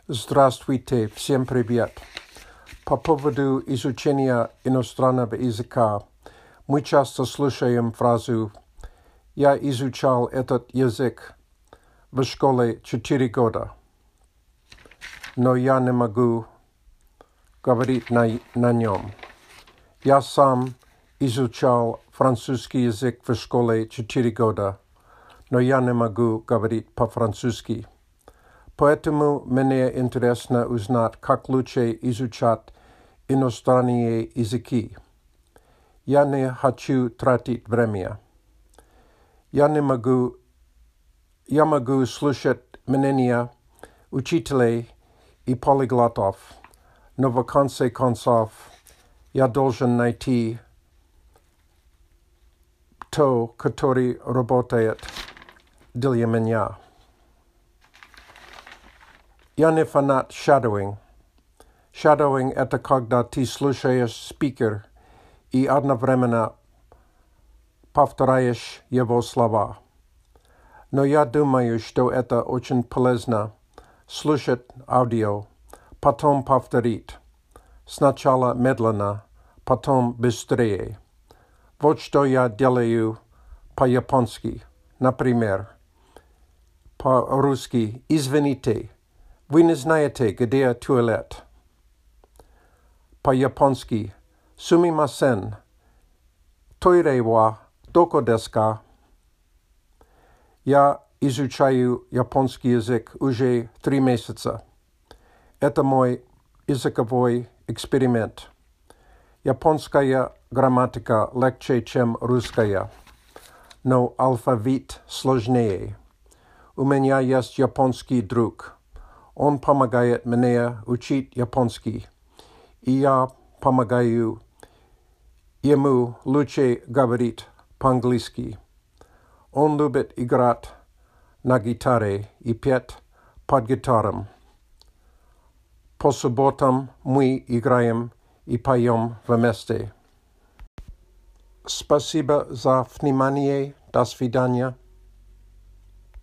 Здравствуйте, всем привет. По поводу изучения иностранного языка мы часто слышим фразу «Я изучал этот язык в школе 4 года, но я не могу говорить на нем». Я сам изучал французский язык в школе 4 года, но я не могу говорить по-французски. Поэтому мне интересно узнать, как лучше изучать иностранные языки. Я не хочу тратить время. Я могу слушать мнения учителей и полиглотов, но в конце концов я должен найти то, который работает для меня. Я не фанат shadowing. Shadowing – это когда ты слушаешь спикер и одновременно повторяешь его слова. Но я думаю, что это очень полезно – слушать аудио, потом повторить. Сначала медленно, потом быстрее. Вот что я делаю по-японски. Например, по-русски «Извините». Вы не знаете, где туалет? По-японски «Сумимасен». Тойре ва доко десу ка? Я изучаю японский язык уже 3 месяца. Это мой языковой эксперимент. Японская грамматика легче, чем русская, но алфавит сложнее. У меня есть японский друг. Он помогает мне учить японский, и я помогаю ему лучше говорить по-английски. Он любит играть на гитаре и петь под гитаром. По субботам мы играем и поем вместе. Спасибо за внимание. До свидания.